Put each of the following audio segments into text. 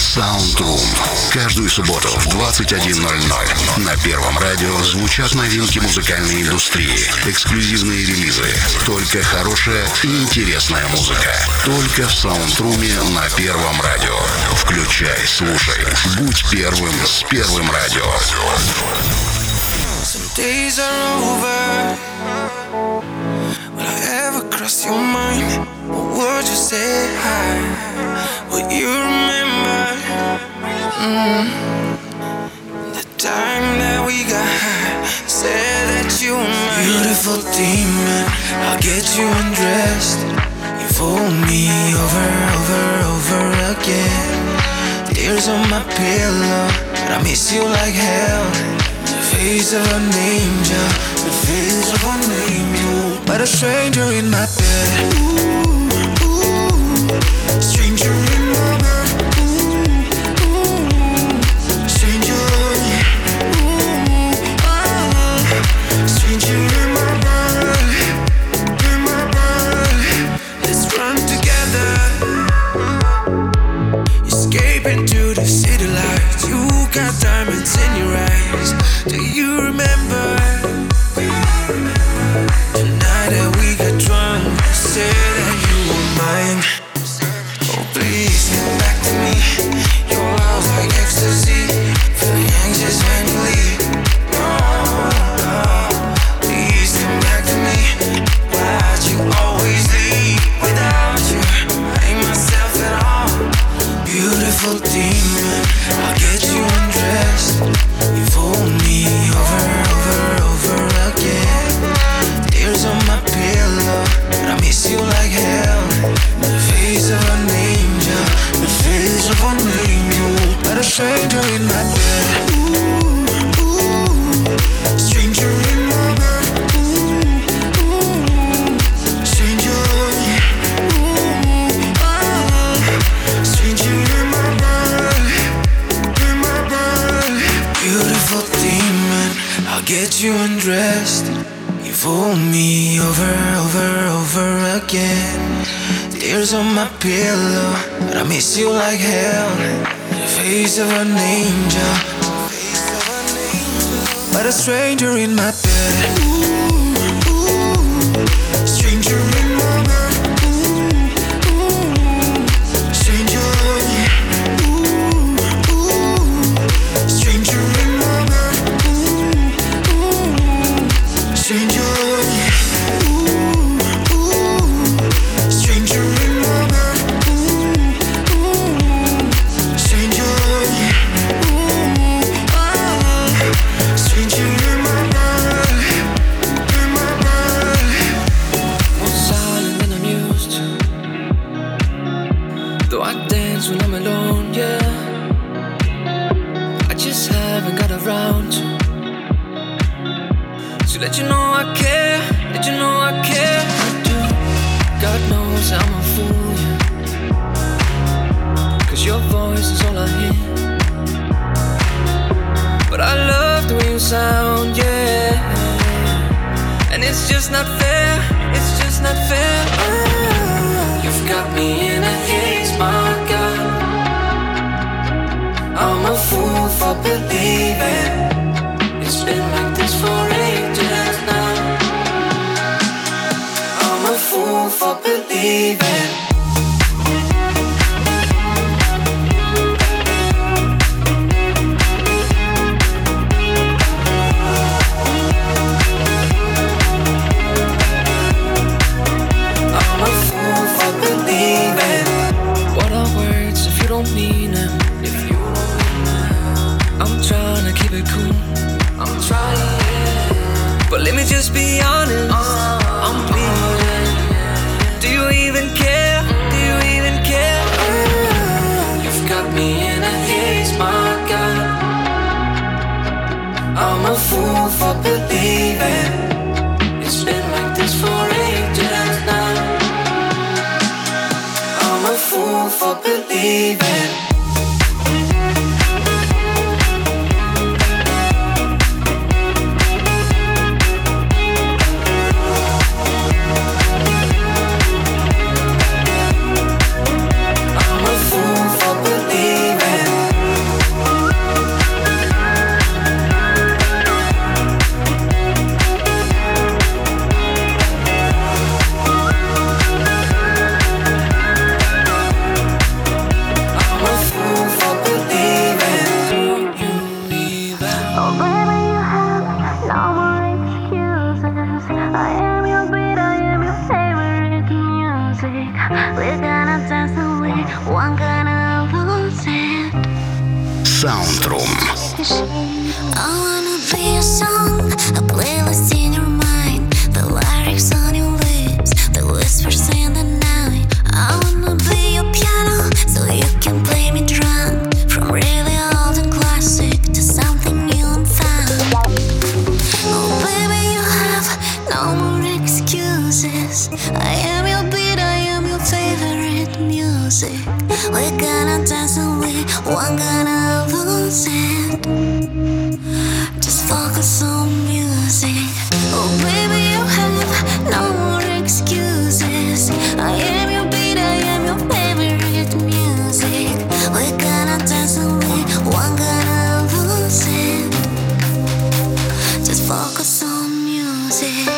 Soundroom. Каждую субботу в 21:00 на Первом радио звучат новинки музыкальной индустрии, эксклюзивные релизы. Только хорошая и интересная музыка. Только в Саундруме на Первом радио. Включай, слушай. Будь первым с Первым радио. Some days are over. Will I ever cross your mind? Or would you say hi? Will you remember the time that we got high? Said that you were my beautiful demon. I'll get you undressed. You fool me over again. Tears on my pillow, but I miss you like hell. The face of an angel, the face of an angel, but a stranger in my bed. Ooh, ooh, stranger in my bed. Ooh, ooh, stranger. Ooh, stranger in my bed, in my bed. Let's run together, escape into the city lights. You got diamonds in your eyes. Do you remember the night that we got drunk? Said that you were mine. Oh, please get back to me. Your love's like ecstasy. Feeling anxious when you leave. Oh, please come back to me. Why'd you always leave? Without you, I ain't myself at all. Beautiful demon, I'll get you undressed. You fool me over again. Tears on my pillow, but I miss you like hell. The face of an angel, the face of an angel, but a stranger in my bed. Ooh, ooh, stranger in my bed. Ooh, ooh, stranger. Ooh, stranger in my bed, in my bed. Beautiful demon, I'll get you undressed. You fool me over again. Tears on my pillow, but I miss you like hell. The face of an angel, but a stranger in my bed. Ooh, ooh, stranger in my bed. Ooh, ooh, stranger. Ooh, ooh, stranger in my bed. Ooh, ooh, stranger. Let you know I care, let you know I care, I do. God knows I'm a fool, yeah. Cause your voice is all I hear. But I love the way you sound, yeah. And it's just not fair, it's just not fair. You've got me in a haze, my God. I'm a fool for believing it's been like this for ages now. I'm a fool for believing. I'm a fool for believing. What are words if you don't mean them? If you don't mean them. I'm trying to keep it cool. I'm trying, but let me just be honest. I'm bleeding. Do you even care? Do you even care? You've got me in a haze, my God. I'm a fool for believing it's been like this for ages now. I'm a fool for believing. I'm a fool for believing. Soundroom. I wanna be a song, a playlist in your mind, the lyrics on your lips, the whispers in the night. I wanna be your piano, so you can play me drunk, from really old and classic to something new and fun. Oh baby, you have no more excuses. I am your beat, I am your favorite music. We're gonna dance and we won't gonna lose it. Just focus on music. Oh baby, you have no more excuses. I am your beat, I am your favorite music. We're gonna dance and we won't gonna lose it. Just focus on music.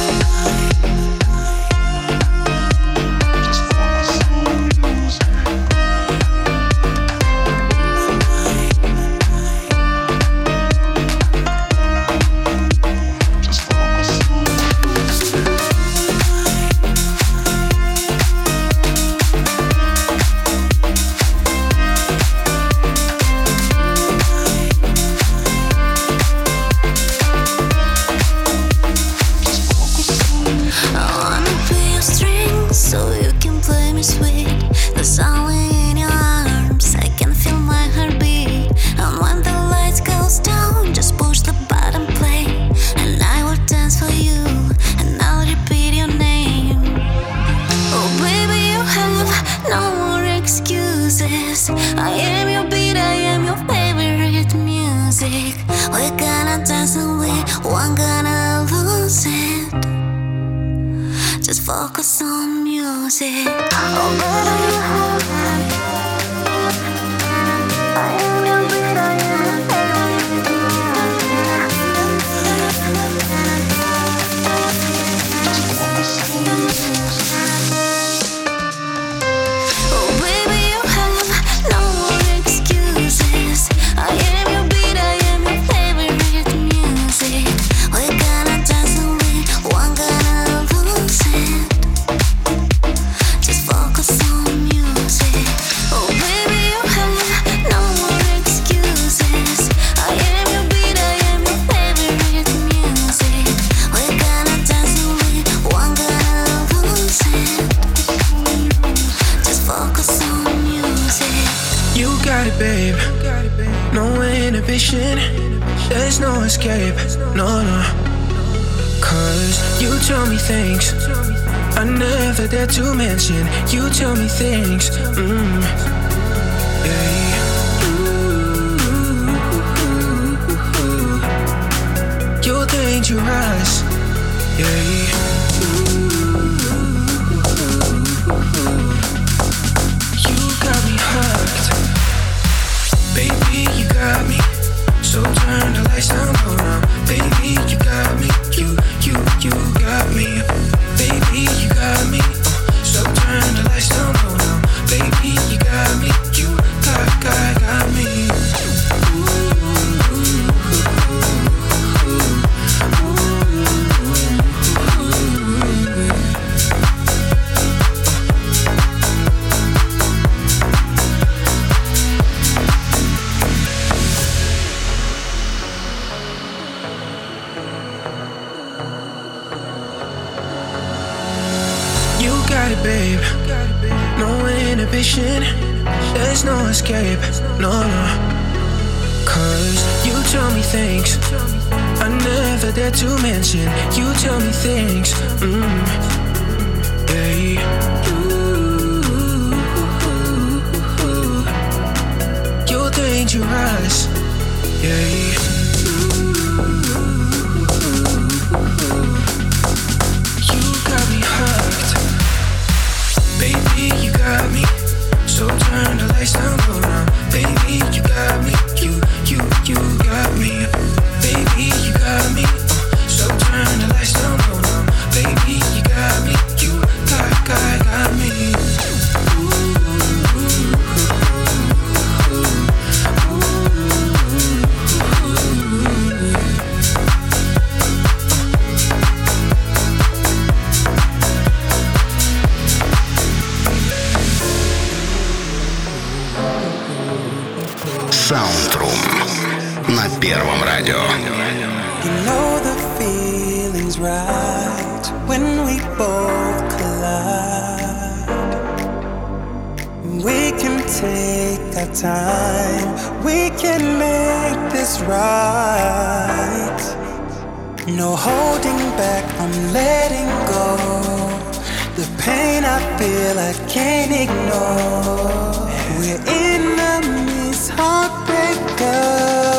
I am your beat, I am your favorite music. We're gonna dance and we won't gonna lose it. Just focus on music. Oh baby, you have I am your beat, I am your favorite music. Oh baby, you have no more excuses. I am your beat, I am your favorite music. We're gonna dance and we won't gonna lose it. Just focus on music. Oh baby, you have no more excuses. I am your beat, I am your favorite music. We're gonna dance and we won't gonna lose it. Just focus on music. You got it, babe. No inhibition. There's no escape. No, no. Cause you tell me things I never dare to mention. You tell me things. Yeah. You're dangerous. Yeah. You got me hooked. Baby, you got me. So turn the lights down low now. Baby, you got me. You got me. Baby, you got me. So turn the lights down low now. Baby, you got me. You got me. You got it, babe. No inhibition. There's no escape. No, no. Cause you tell me things I never dare to mention. You tell me things. Yeah. You're dangerous. Yeah. You got me hooked. Baby, you got me. So turn the lights down low now. Baby, you got me. You got me. Baby, you got me. So turn the lights down low now. Baby, you got me. You got me. Soundroom на Первом радио. You know the feeling's right when we both collide. We can take our time, we can make this right. No holding back, I'm letting go. The pain I feel I can't ignore. We're enemies, heartbreakers.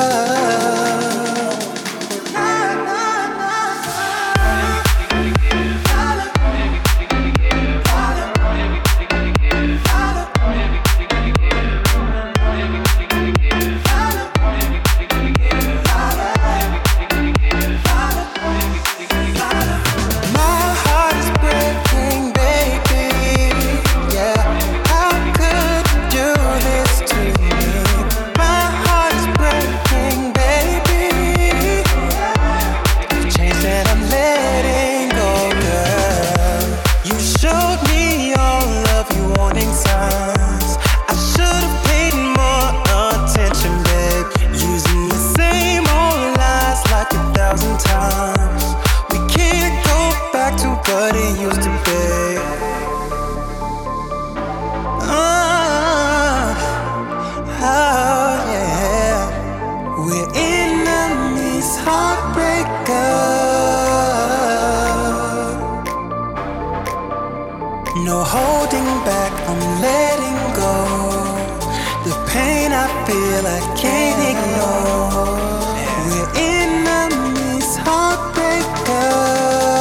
No holding back, I'm letting go. The pain I feel I can't ignore. We're enemies, heartbreakers.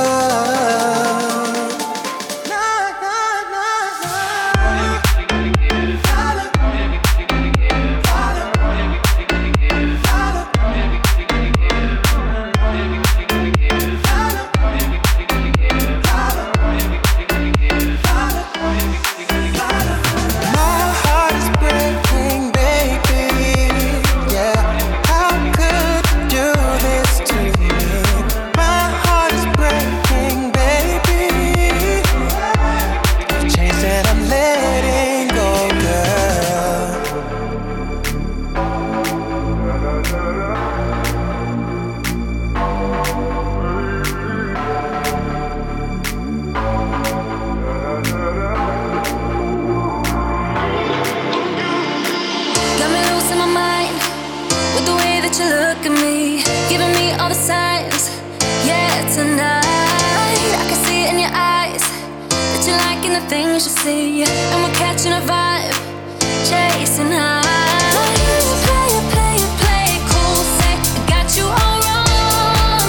Things you see, and we're catching a vibe, chasing high. Play it cool, say I got you all wrong.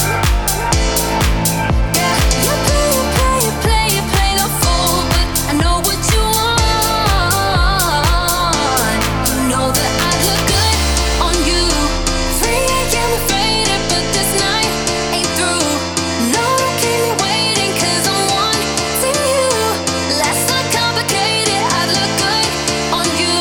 Yeah, you play the fool, but I know what you want. You know that I look good on you. 3 AM we're faded, but this night ain't through. No, don't keep me waiting, 'cause I'm wanting you. Let's not complicate it. I'd look good on you.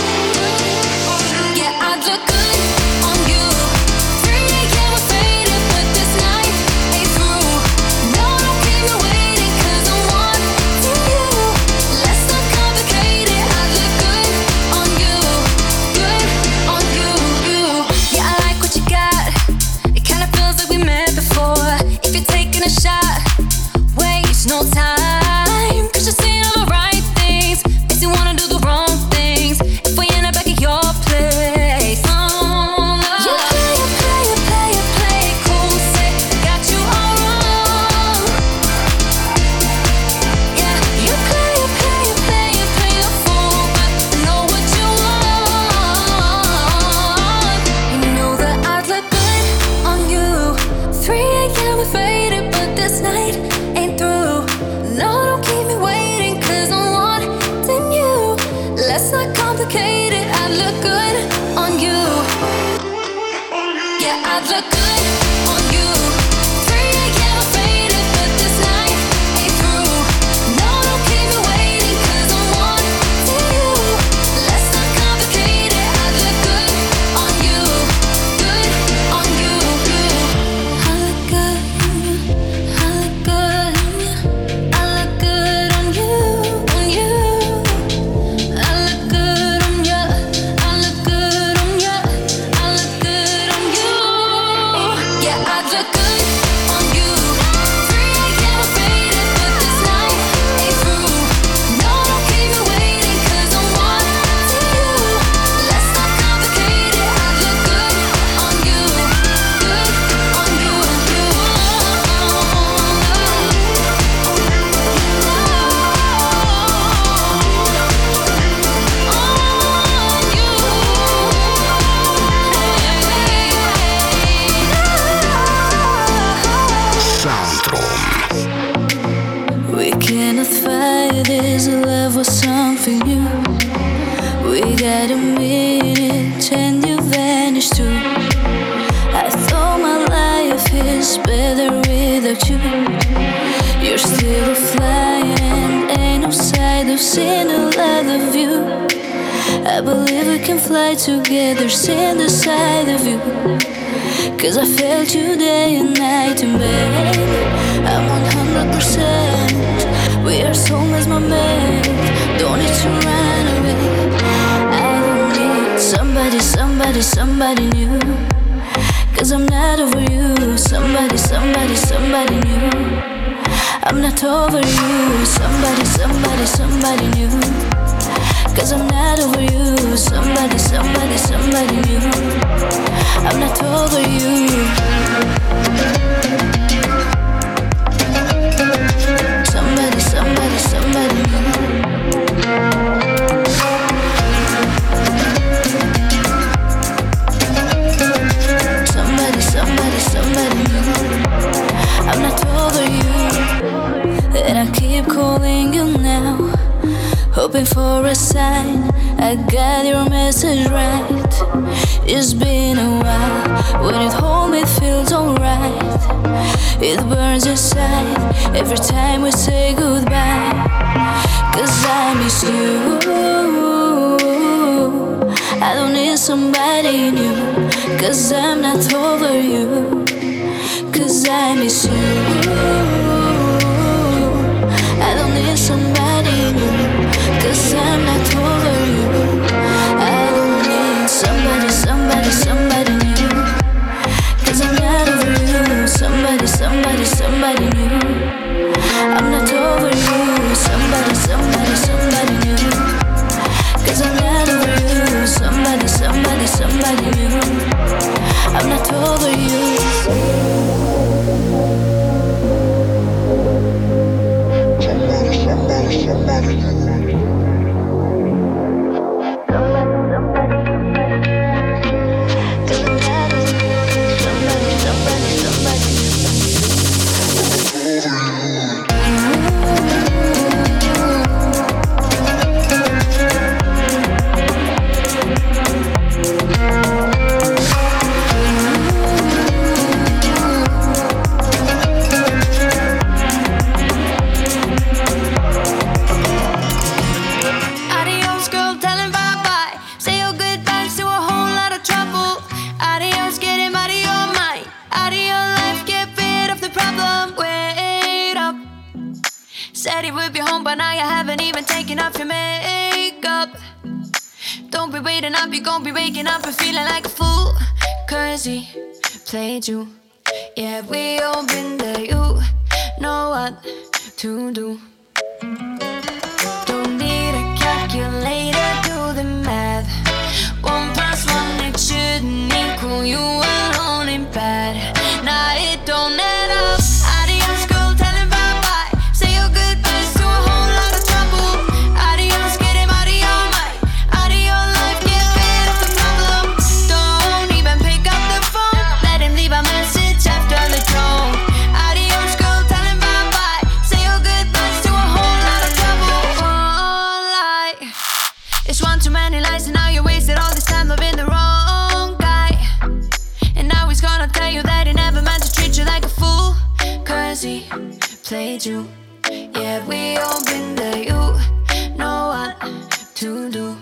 Yeah, I'd look good on you. 3 AM we're faded, but this night ain't through. No, don't keep me waiting, 'cause I'm wanting you. Let's not complicate it. I'd look good on you. Good on you. Yeah, I like what you got. It kinda feels like we met before. If you're taking a shot, waste no time, 'cause you're saying all the right things. Makes you wanna do the wrong things if we end up back at your place. Oh, no. You play it cool, say I got you all wrong. Yeah, you play the fool, but I know what you want. You know that I'd look good on you. 3 AM we're faded, but this night ain't through. No, don't keep me waiting, 'cause I'm wanting you. Let's not complicate it. I'd look good on you. Yeah, I'd look good on you. 3 AM we're faded, but this night ain't through. No, don't keep me waiting, 'cause I'm wanting you. Let's not complicate it. I'd look good on you. Good on you. I look good. I look good. I look good on you. On you. I look good on you. I look good without you. You're still flying and ain't no sight of seeing the light of you. I believe we can fly together, seeing the side of you. Cause I felt you day and night, and babe, I'm 100%. We are soulmates, my man. Don't need to run away. I don't need somebody new. Cause I'm not over you. Somebody new. I'm not over you. Somebody new. Cause I'm not over you. Somebody new. I'm not over you. Somebody new. Somebody new. I'm not over you. And I keep calling you now, hoping for a sign. I got your message right. It's been a while. When you hold me, it feels alright. It burns inside every time we say goodbye. Cause I miss you. I don't need somebody new. Cause I'm not over you. Cause I miss you. I don't need somebody new. Cause I'm not over you. I don't need somebody new. Cause I'm not over you. Somebody new. I'm not over you. Somebody new. Cause I'm not over you. Somebody new. I'm not over you. You gon' be waking up and feeling like a fool. Cause he played you. Yeah, we all been there. You know what to do. Don't need a calculator, do the math. 1 + 1, it shouldn't equal you alone ain't bad. Nah, it don't add up. Adios, girl, tell him bye-bye. Say your goodbyes to a whole lot of trouble. Adios, get him out of your mind. Out of your life, get rid of the problem. Don't even pick up the phone. Let him leave a message after the tone. Adios, girl, tell him bye-bye. Say your goodbyes to a whole lot of trouble. Oh, lie. It's one too many lies, and now you wasted all this time loving the wrong guy. And now he's gonna tell you that he never meant to treat you like a fool. Cause he played you. Yeah, we all been there. You know what to do.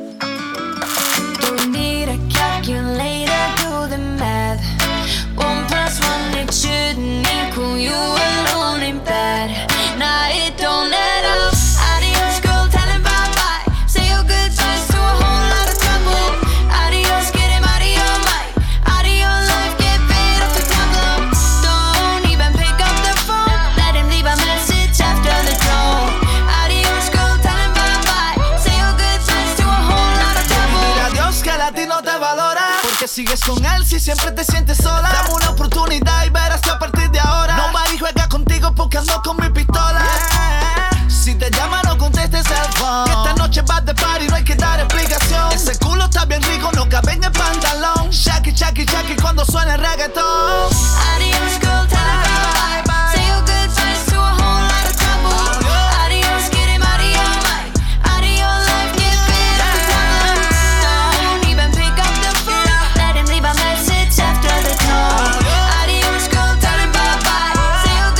Don't need a calculator, do the math. 1 + 1, it shouldn't equal you alone ain't bad. Nah, it don't add up. Adios, girl, tell him bye-bye. Say your goodbyes to a whole lot of trouble. Adios, get him out of your mind. Out of your life, get rid of the problem. Don't even pick up the phone. Let him leave a message after the tone. Adios, girl, tell him bye-bye. Say your goodbyes to a whole lot of trouble. Mira, Dios que a ti no te valora. Porque sigues con él si siempre te sientes sola. Dame una oportunidad y verás que a partir de ahora nobody juega contigo porque ando con mi pistola. Si te llama no contestes el phone. Que esta noche vas de party, no hay que dar explicación. Ese culo está bien rico, no cabe en el pantalón. Shaki, shaki, shaki cuando suena el reggaetón. Adios, girl, tell him bye-bye. Say your goodbyes to a whole lot of trouble. Adios, get him out of your mind. Out of your life, get rid of the problem. Don't even pick up the phone. Let him leave a message after the tone. Adios, girl, tell him bye-bye. Say your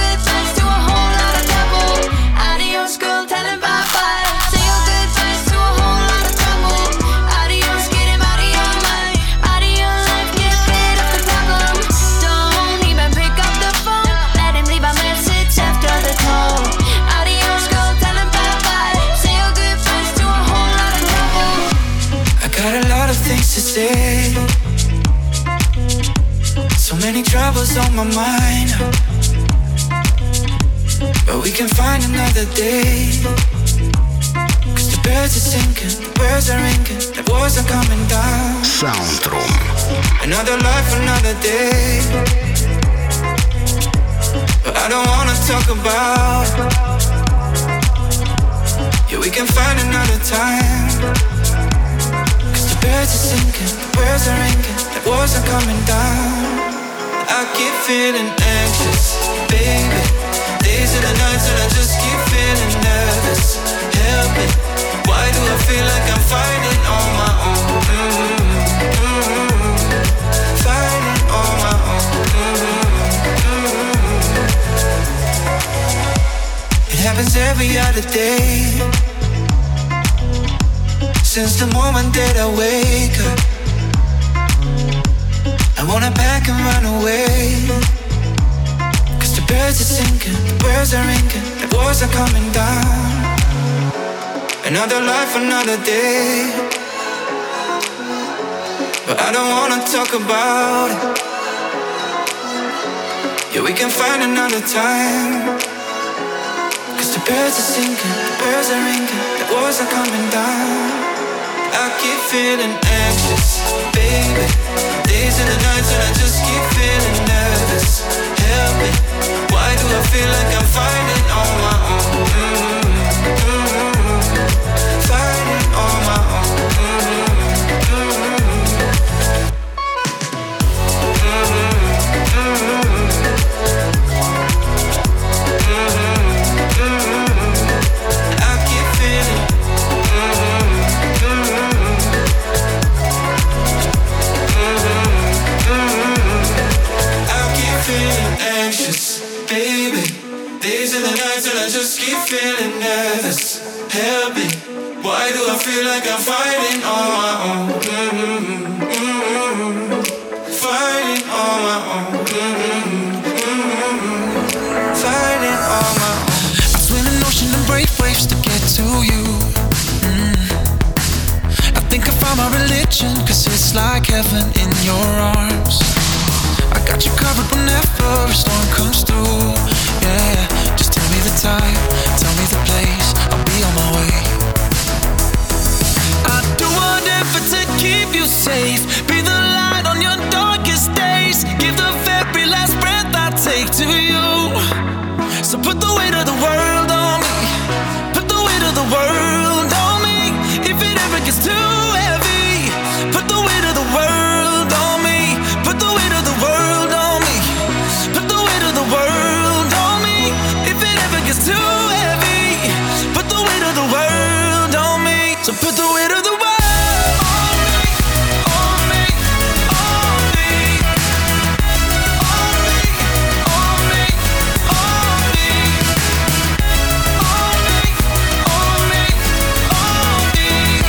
to say. So many troubles on my mind, but we can find another day. Cause the birds are singing, the birds are ringing, the wars are coming down. Soundroom. Another life, another day. But I don't wanna talk about it. Yeah, we can find another time. Cause the birds are singing, the birds are ringing, the wars are coming down. I keep feeling anxious, baby. Days and the nights and I just keep feeling nervous. Help me, why do I feel like I'm fighting on my own? Fighting on my own. It happens every other day. Since the moment that I wake up, I wanna pack and run away. Cause the birds are singing, the birds are ringing, the wars are coming down. Another life, another day. But I don't wanna talk about it. Yeah, we can find another time. Cause the birds are singing, the birds are ringing, the wars are coming down. I keep feeling anxious, baby. Days and the nights and I just keep feeling nervous. Help me, why do I feel like I'm fighting on my own? Fighting on my own. I keep feeling. Feeling anxious, baby. Days and the nights and I just keep feeling nervous. Help me, why do I feel like I'm fighting on my own? Fighting on my own. Fighting on my own. I swim an ocean and break waves to get to you. I think I found my religion, cause it's like heaven in your arms. I got you covered whenever a storm comes through. Yeah, just tell me the time, tell me the place, I'll be on my way. I'd do whatever to keep you safe, be the light on your darkest days, give the very last breath I take to you. So put the weight of the world on me, put the weight of the world on me. If it ever gets too heavy, put the weight of the world on me, put the weight of the world on me, put the weight of the world on me. If it ever gets too heavy, put the weight of the world on me. So put the weight of the world on me, on me, on me, on me, on me, on me, on me, on me, on me,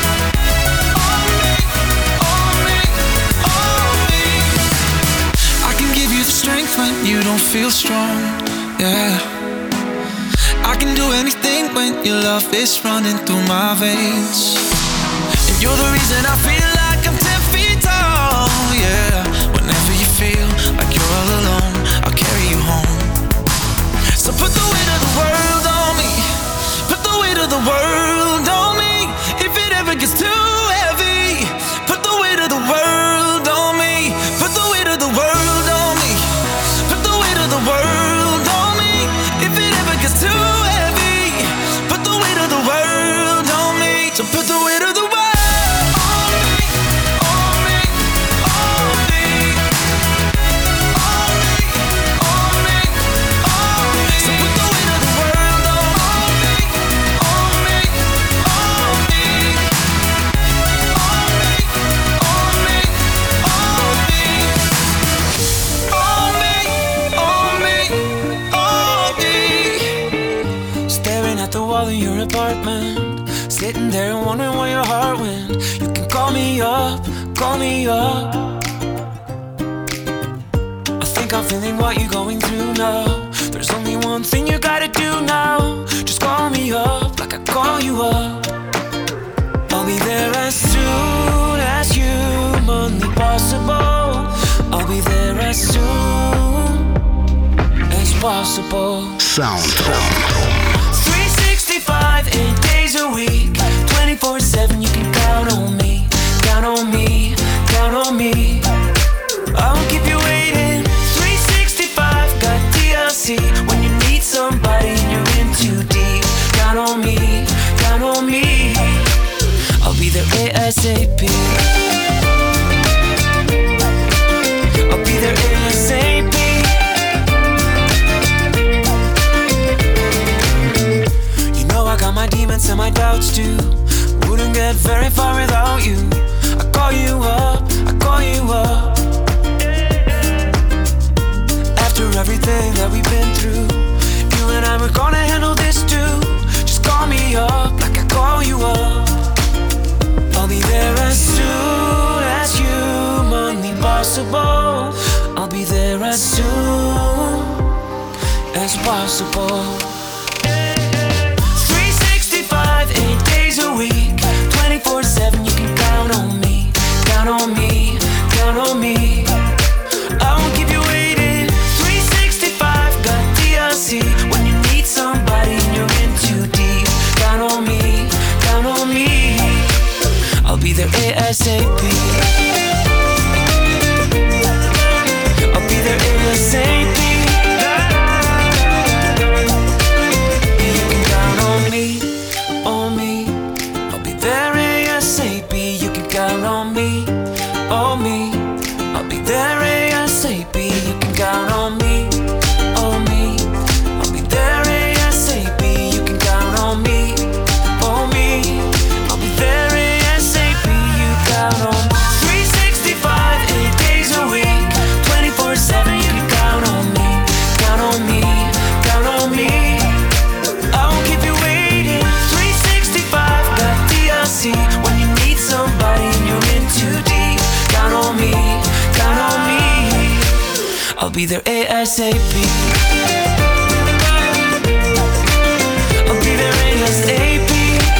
on me, on me. I can give you the strength when you don't feel strong, yeah. I can do anything when your love is running through my veins. And you're the reason I feel like I'm 10 feet tall, yeah. Whenever you feel like you're all alone, I'll carry you home. So put the weight of the world on me, put the weight of the world on me. If it ever gets too heavy, put the weight of the world on me, put the weight of the world on me, put the weight of the world on me. If it ever gets too heavy, put the weight of the world on me. So put the weight of the world on me, on me, on me, on me, on me, on me. So put the weight of the world on me, on me, on me, on me, on me, on me, on me, on me. Staring at the wall in your apartment, sitting there and wondering where your heart went. You can call me up, call me up. I think I'm feeling what you're going through now. There's only one thing you gotta do now. Just call me up like I call you up. I'll be there as soon as you possible. Soundtron. 365, 8 days a week, 24/7, you can count on me, count on me, count on me. I won't keep you waiting. 365, got TLC. When you need somebody and you're in too deep, count on me, count on me. I'll be there ASAP. I'll be there ASAP. You know I got my demons and my doubts too. Wouldn't get very far without you. I call you up, I call you up. After everything that we've been through, you and I were gonna handle this too. Just call me up like I call you up. I'll be there as soon as humanly possible. I'll be there as soon as possible. 365, 8 days a week, 24/7, you can count on me, count on me, count on me. I won't keep you waiting. 365, got TLC. When you need somebody and you're in too deep, count on me, count on me. I'll be there ASAP. I'll be there ASAP. You can count on me, on me. I'll be there ASAP. You can count on me, on me. I'll be there ASAP. You can count on me, on me. I'll be there ASAP. You can count on me, on me. I'll be there ASAP. You count on me. 365, 8 days a week, 24/7. You can count on me, count on me, count on me. I won't keep you waiting. 365, got TLC. When you need somebody and you're in too deep, count on me, count on me. I'll be there ASAP. I'll be there ASAP.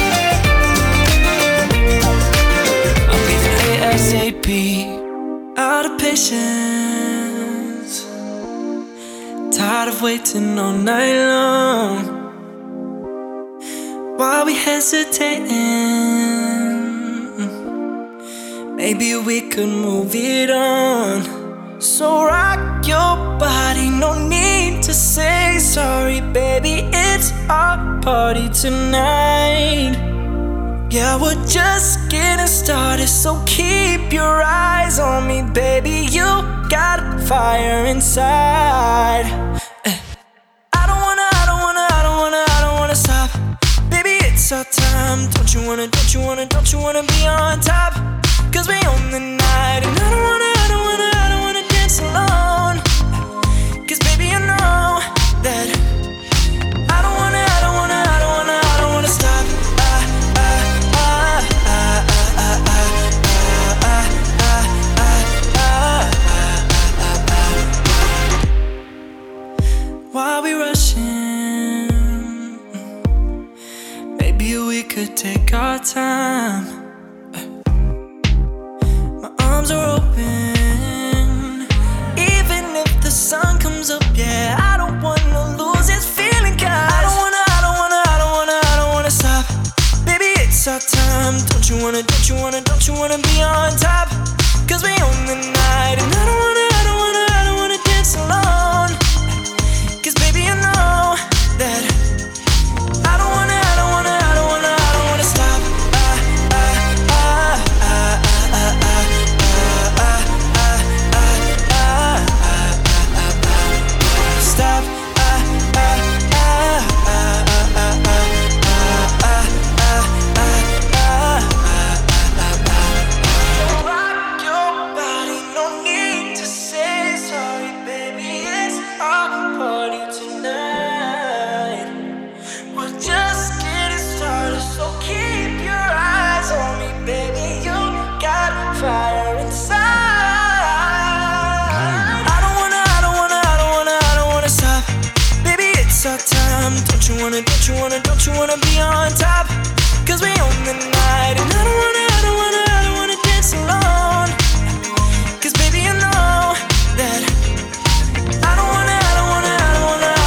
I'll be there ASAP. Out of patience, tired of waiting all night long. While we hesitating, maybe we could move it on. So rock your body, no need to say sorry, baby. It's our party tonight. Yeah, we're just getting started, so keep your eyes on me, baby. You got fire inside. I don't wanna stop. Baby, it's our time. Don't you wanna be on top? 'Cause we own the night. And I don't wanna dance alone. 'Cause baby, you know that I don't wanna stop. Why we rushing? Maybe we could take our time. My arms are open, even if the sun comes up. Yeah, I don't wanna lose this feeling, 'cause I don't wanna stop. Baby, it's our time. Don't you wanna be on top? 'Cause we own the night, and I don't wanna dance alone. 'Cause baby, you know that I don't wanna stop. Stop. Rock your body, no need to say sorry, baby. It's our party tonight. We're just getting started, so keep your eyes on me, baby. You got fire inside. I don't wanna stop. Baby, it's our time. Don't you wanna be on top? 'Cause we own the night, and I don't wanna dance alone. 'Cause baby, you know that I don't wanna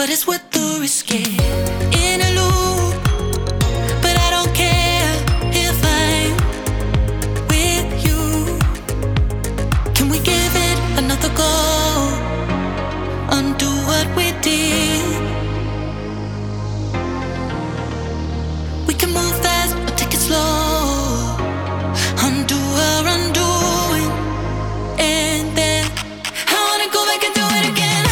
but it's worth the risk. In a loop, but I don't care if I'm with you. Can we give it another go? Undo what we did. We can move fast or take it slow. Undo our undoing, and then I wanna go back and do it again.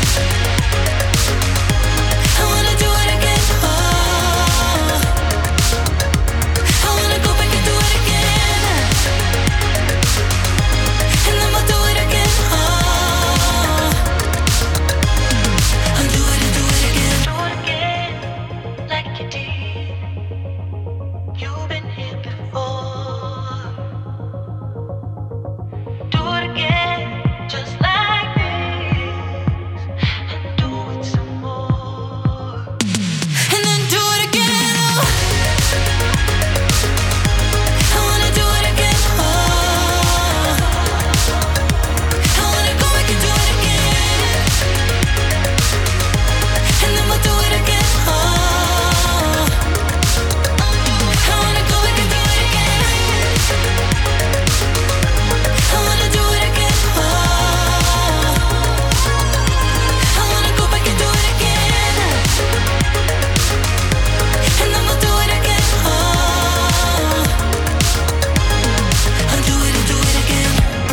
I wanna do it again. Oh, I wanna go back and do it again, and then we'll do it again. Oh, undo it and do it again. Do it again, like you did. You've been here before. Do it again, just like this, and do it some more, and then do it again. Oh, I wanna do it again. Oh, I wanna go back and do it again, and then we'll do it again. Oh, I wanna go back and do it again. I wanna do it again. Oh, I wanna go back and do it again, and then we'll do it again. Oh, I'll do it and do it again.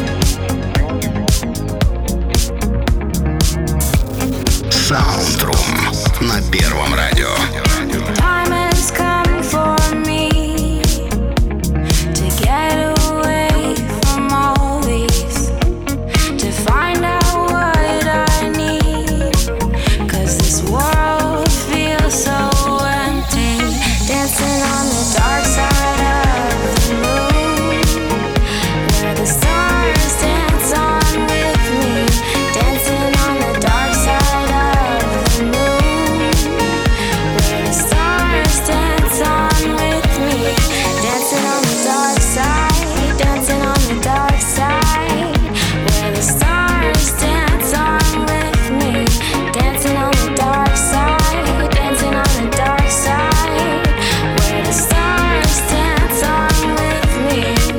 Soundroom на Первом радио. Time has come for me to get away from all these, to find out what I need. 'Cause this world feels so empty. Dancing on the dark side of the moon, where the stars dance on with me. Dancing on the dark side of the moon, where the stars dance on with me. Dancing on the dark side, dancing on the dark side, where the stars dance on with me. Dancing on the dark side, dancing on the dark side, where the stars dance on with me.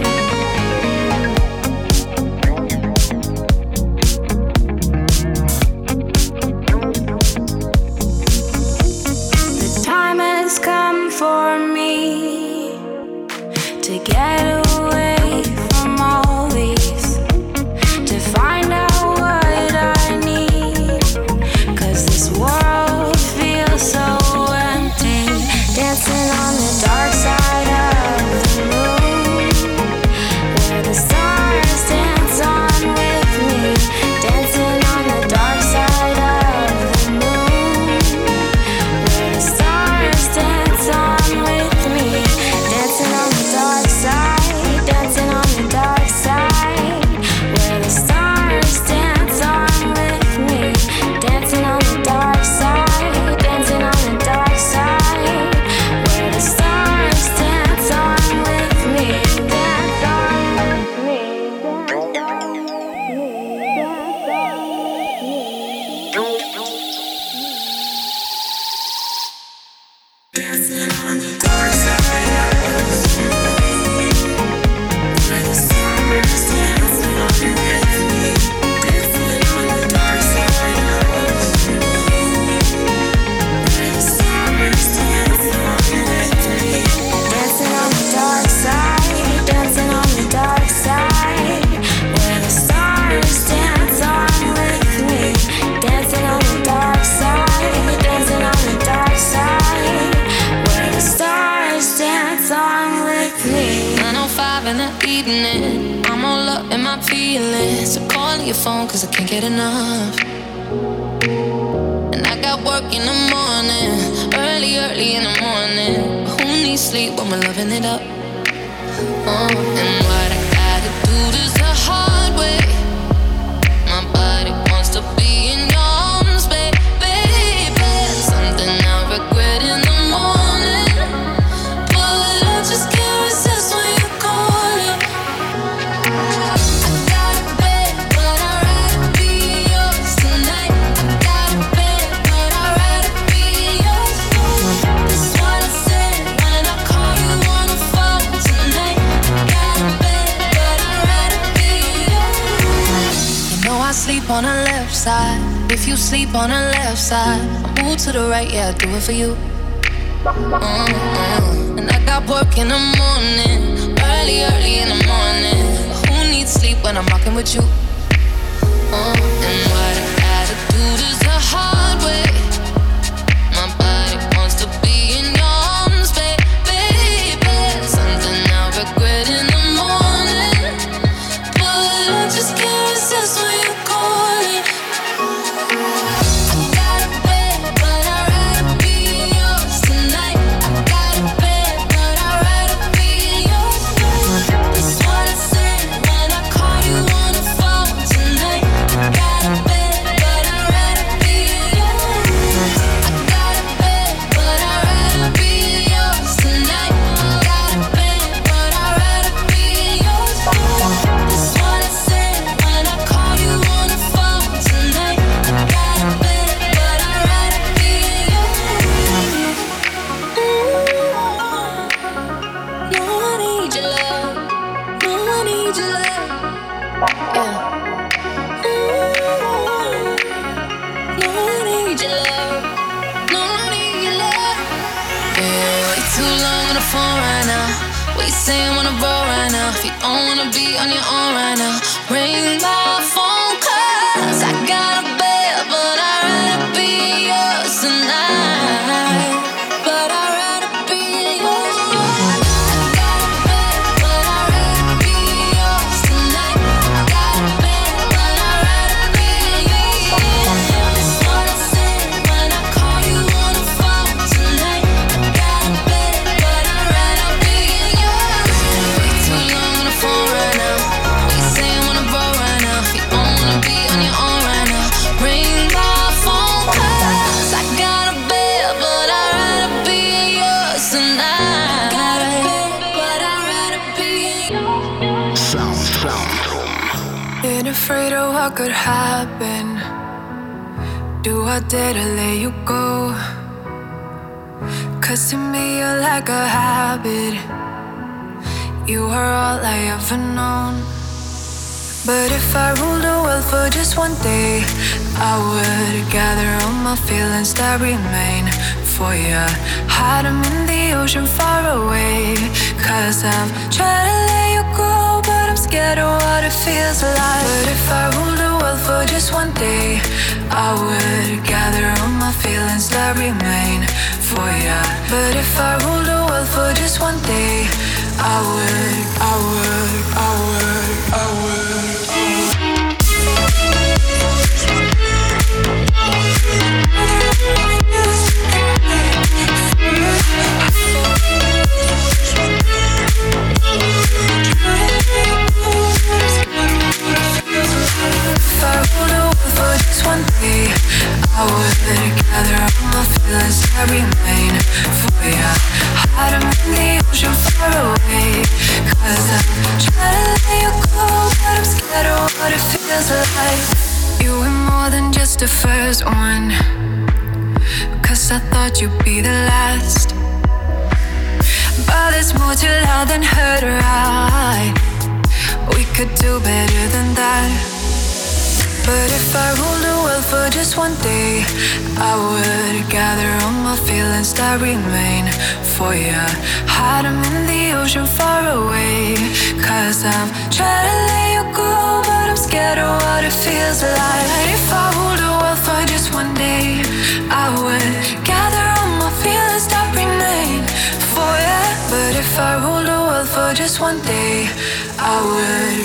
The time has come for me to get away from all these, to find out what I need. 'Cause this world feels so empty. Dancing on the dark side of the moon, where the stars dance on with me. Dancing on the dark side of the moon, where the stars dance on with me. Dancing on the dark side, dancing on the dark side, where the stars dance on with me. Dancing on the dark side, dancing on the dark side, where the stars dance on with me. Dance on with me. Dance on Dancing on the dark side of the moon, where the stars dance on with me. Dancing on the dark side of the moon, where the stars dance on with me. Dancing on the dark side, dancing on the dark side, where the stars dance on with me. Dancing on the dark side, dancing on the dark side, where the stars dance on with me. 9:05 in the evening, I'm all up in my feelings. So call your phone 'cause I can't get enough. And I got work in the morning, early in the morning. Who needs sleep when we're loving it up? And what I gotta do this the hard way. My body wants to be in your arms, baby. Something I regret in the morning, but I just can't resist when you call it. I got a bed, but I'd rather be yours tonight. I got a bed, but I'd left side. If you sleep on the left side, I move to the right, yeah, I do it for you. And I got work in the morning, early in the morning. But who needs sleep when I'm rocking with you? And what I gotta do is the hard way. My body wants to be in your arms, baby. Something I regret in the morning, but I just can't resist when you're calling. I got a bed, but I'd rather be yours tonight. I got a bed, but I'd rather be yours. That's what I said when I call you on the phone tonight. I got a bed, but I'd rather be yours. I got a bed, but I'd rather be yours tonight. I got a bed, but I'd rather be yours. That's what I said when I call you on the phone tonight. I got a bed, but I'd rather be yours. No, I need your love. No, I need your love. Yeah. No, I need your love. No, I need your love. Yeah, way too long on the phone right now. What you saying wanna roll right now? If you don't wanna be on your own right now, ring my phone 'cause I got a bed, but I'd rather be yours tonight. But I'd rather be yours. I got a bed, but I'd rather be yours tonight. I got a bed, but I'd rather be yours. That's what I said when I call you on the phone tonight. I got a bed, but I'd rather be yours. Way too long on the phone right now. What you saying wanna roll right now? If you don't wanna be on your own right now, ring my phone 'cause I got a bed, but I'd rather be yours tonight. I got a bed, but I'd rather be yours. Soundroom. Been afraid of what could happen. Do I dare to let you go? 'Cause to me you're like a habit. You are all I ever known. But if I ruled the world for just one day, I would gather all my feelings that remain for you, hide them in the ocean far away. 'Cause I've tried to let you go, but I'm scared of what it feels like. But if I ruled the world for just one day, I would gather all my feelings that remain for you. But if I ruled the world for just one day, I would. If I ruled the world for just one day, I would gather all my feelings that remain for you, hide them in the ocean far away. 'Cause I'm trying to let you go, but I'm scared of what it feels like. You were more than just the first one, 'cause I thought you'd be the last. But there's more to love than hurt, right? We could do better than that. But if I ruled the world for just one day, I would gather all my feelings that remain for you, hide them in the ocean far away. 'Cause I'm trying to let you go, but I'm scared of what it feels like. If I ruled the world for just one day, I would gather all my feelings that remain for you. But if I ruled the world for just one day, I would.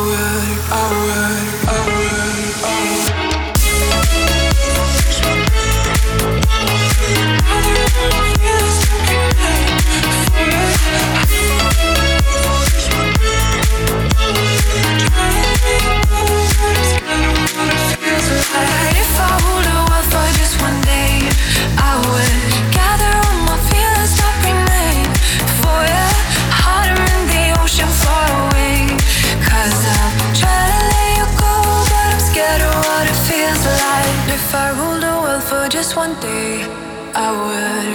If I ruled the world for just one day, I would gather all my feelings that remain for you, hide them in the ocean far away. 'Cause I've tried to let you go, but I'm scared of what it feels like. If I ruled the world for just one day, I would.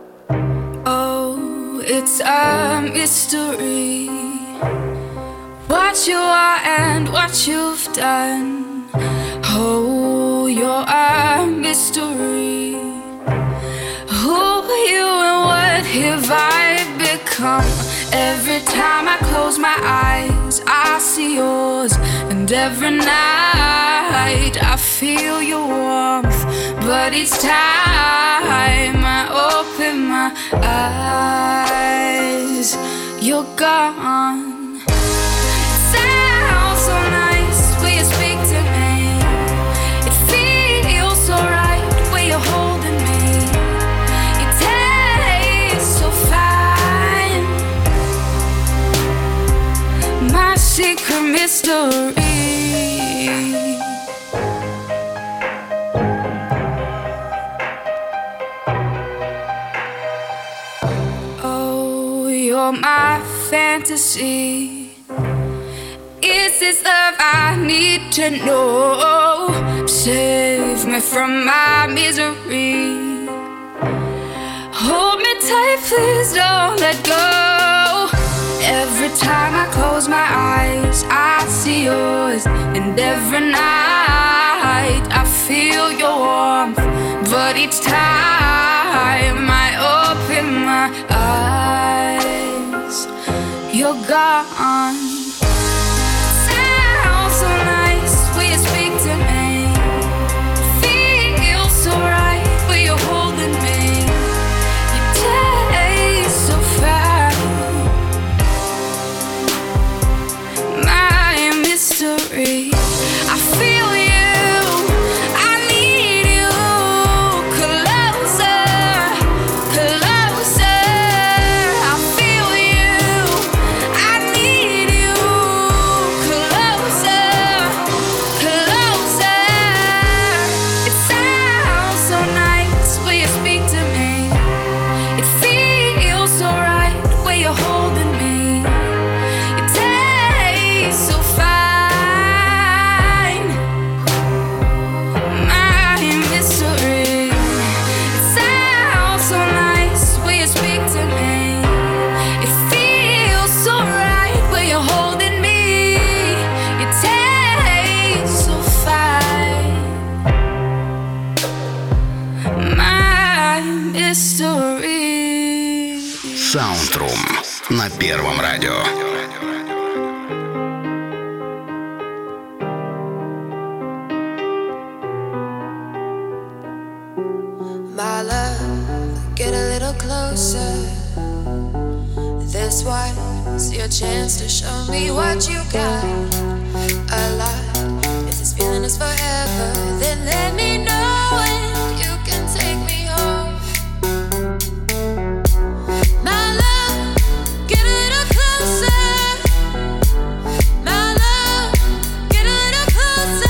Oh, it's a mystery what you are and what you've done. Oh, you're a mystery. Who are you and what have I become? Every time I close my eyes, I see yours. And every night I feel your warmth. But each time I open my eyes, you're gone. Sounds so nice when you speak to me. It feels so right when you're holding me. It tastes so fine. My secret mystery. Oh, you're my fantasy. Is this love I need to know? Save me from my misery. Hold me tight, please don't let go. Every time I close my eyes, I see yours. And every night I feel your warmth. But each time I open my eyes, you're gone. Sounds so nice when you speak to me. Feels so right when you're holding me. You taste so fine. My mystery. I feel you. I need you. Closer, closer. I feel you. I need you. Closer, closer. It sounds so nice when you speak to me. It feels so right when you're holding me. It tastes so fine. My mystery. It sounds so nice when you speak to me. It feels so right when you're holding me. It tastes so fine. My mystery. Soundroom на Первом радио. My love, get a little closer. This was your chance to show me what you got. A lot. If this feeling is forever, then let me know when you can take me home. My love, get a little closer. My love, get a little closer.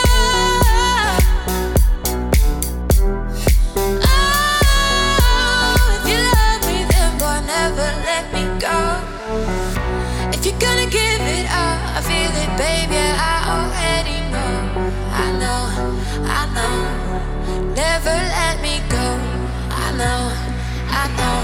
Oh, if you love me, then boy, never let me go. If you're gonna give it up, I feel it, baby, I already know. I know, I know. Never let me go. I know, I know.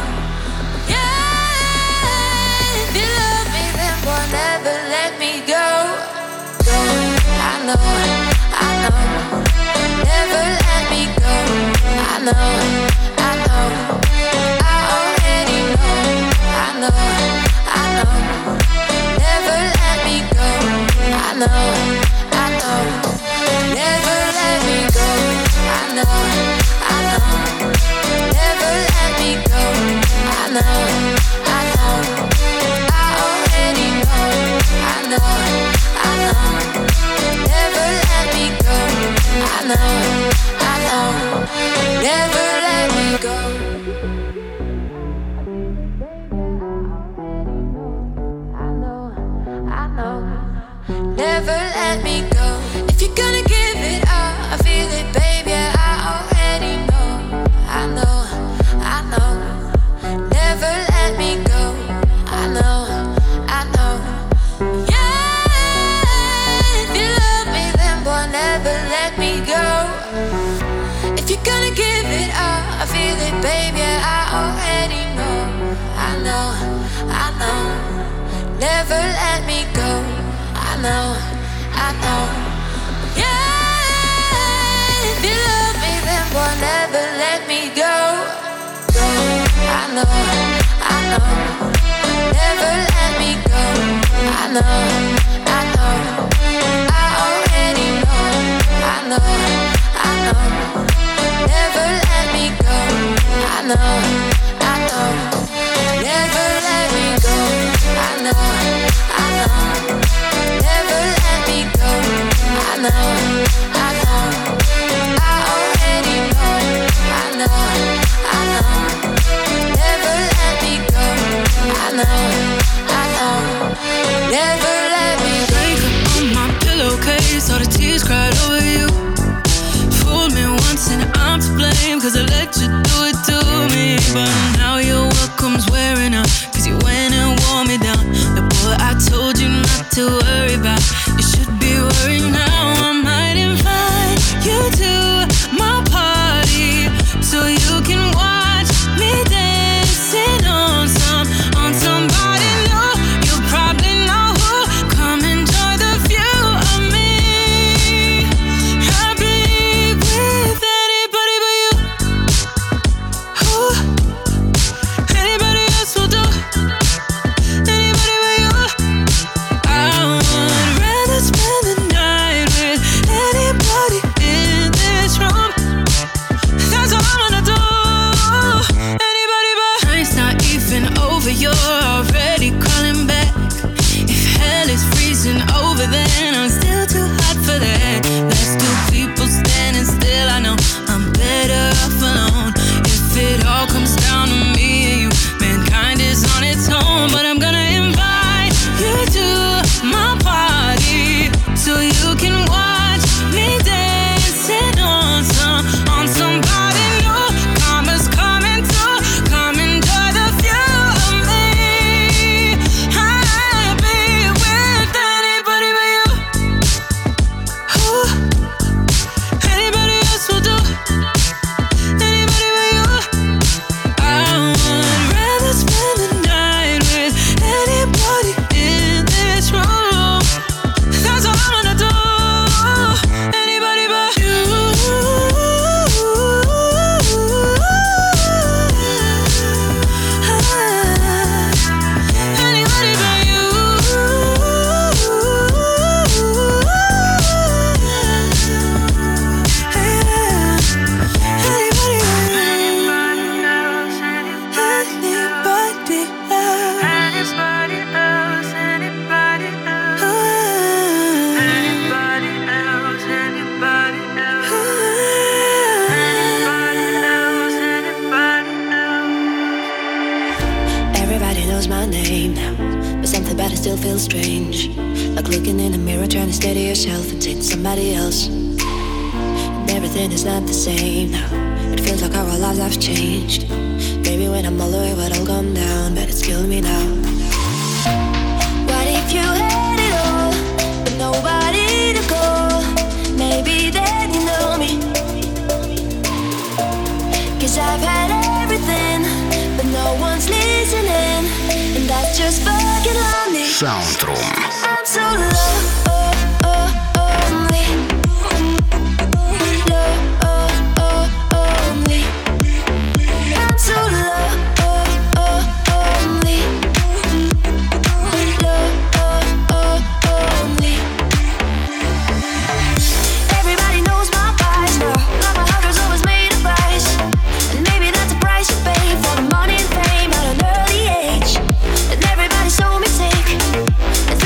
Yeah, if you love me, then boy, never let me go. Go, I know, I know. Never let me go. I know, I know. I already know. I know, I know. Never let me go. I know, I know. Never let me go. I know, I know. Never let me go. I know, I know. I already know. I know, I know. Never let me go. I know, I know. Never let me go. I know, I know. Never let me go. If you're gonna give it up, I feel it, baby, I already know. I know, I know. Never let me go. I know, I know. Yeah, if you love me, then boy, never let me go. If you're gonna give it up, I feel it, baby, I already know. I know, I know. never let me go. I know, I know. Yeah, if you love me, then boy, never let me go. Go, I know, I know. Never let me go. I know, I know. I already know. I know, I know. Never let me go. I know, I know. Never let me go. I know, I know. Never let me go. I know, I know. I already know. I know, I know. Never let me go. I know, I know. Never let me go. Wake up on my pillowcase, all the tears cried over you. Fooled me once and I'm to blame, cause I let you do it to me. But now your welcome's wearing out, cause you went and wore me down. The boy I told you not to worry about, you should be worried now. I might invite you to my party, so you can watch me dancing on somebody new. You probably know who. Come enjoy the view of me. I'll be with anybody but you. Who? Anybody else will do. Anybody but you. I would rather spend the night with anybody in this room. That's all I wanna do. Anybody but. Time's not even over, you're already calling back. If hell is freezing over, then I'm still too hot for that. Let's do people standing still. I know I'm better off alone. If it all comes down to me and you, mankind is on its own. But I'm gonna invite you to my party, so you can watch me dancing on somebody new. Karma's coming through. Come enjoy the view of me. I'll be with anybody but you. Who? Anybody else will do. Anybody but you. I would rather spend the night with anybody in this room. That's all I wanna do. Anybody but you. Anybody but you. Anybody else, Everybody knows my name now, but something about it still feels strange. Like looking in the mirror, trying to steady yourself and say to somebody else. And everything is not the same now. It feels like our lives have changed. Maybe when I'm all away, what all gone down, but it's killing me now. What if you had it all, but nobody to call? Maybe then you know me. Cause I've had everything, but no one's listening, and that's just fucking lonely. Soundroom. I'm so lonely. I'm so lonely. Everybody knows my price now. Now my heart has always made a price, and maybe that's a price you pay for the money and fame at an early age. And everybody so me sick, and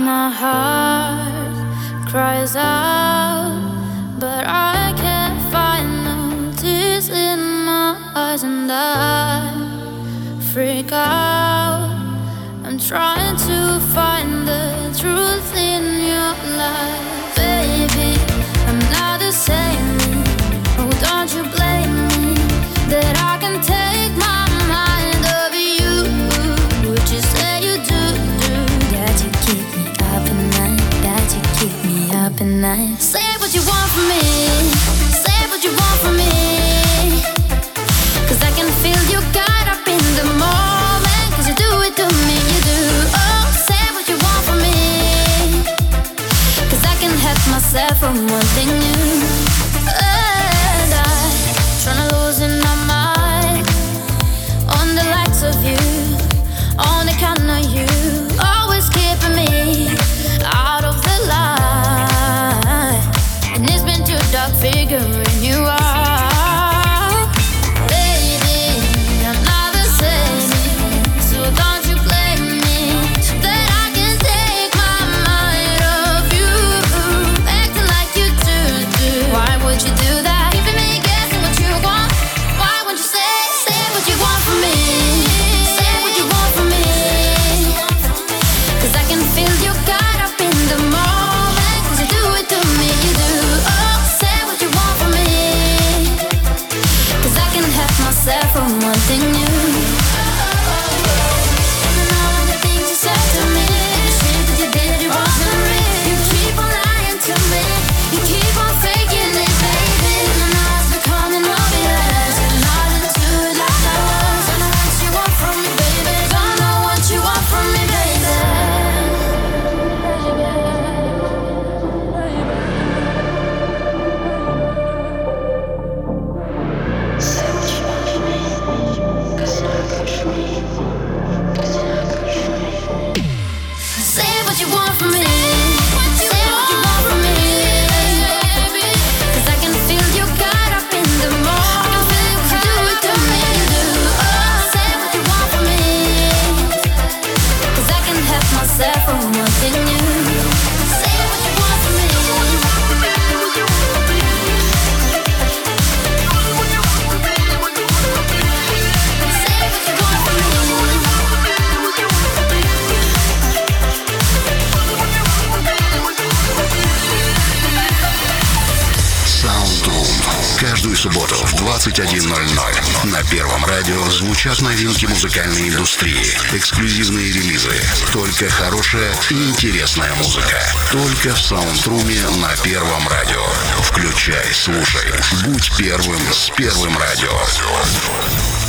my heart cries out, but I can't find no tears in my eyes, and I freak out. I'm trying to find the truth in your life, baby. I'm not the same. Oh, don't you blame me that I can take my mind over you. Would you say you do? That you keep me up at night. That you keep me up at night. Say what you want from me. Say what you want from me. 'Cause I can feel you got up in the moment. 'Cause you do it to me, you do. Oh, say what you want from me. 'Cause I can help myself from one thing new. And I'm tryna losing my mind on the likes of you, on the kind of you, always keeping me out of the line. And it's been too dark figuring you out, baby. I'm not the same, so don't you blame me that I can take my mind off you, acting like you do. Why would you do that? Keeping me guessing what you want. Why won't you say what you want from me? Say what you want from me. 'Cause I can feel you got up in the moment. 'Cause you do it to me, you do. Oh, say what you want from me. 'Cause I can help myself from one thing new. And all of the things you said to me, the shit that you did, it wasn't real. You keep on lying to me. You keep on faking it, baby. And now it's becoming obvious. And not into it like I was. I know what you want from me, baby. Don't know what you want from me, baby. Say what you want from me. Say what you want from me. 'Cause I can feel you got up in the morning. You do it to me, you do. Oh, say what you want from me. 'Cause I can help myself from one thing new. Say what you want from me. Say what you want from me. Soundroom. Каждую субботу в 21:00 на Первом радио звучат новинки музыкальной индустрии, эксклюзивные релизы. Только хорошая и интересная музыка. Только в Саундруме на Первом радио. Включай, слушай. Будь первым с Первым радио.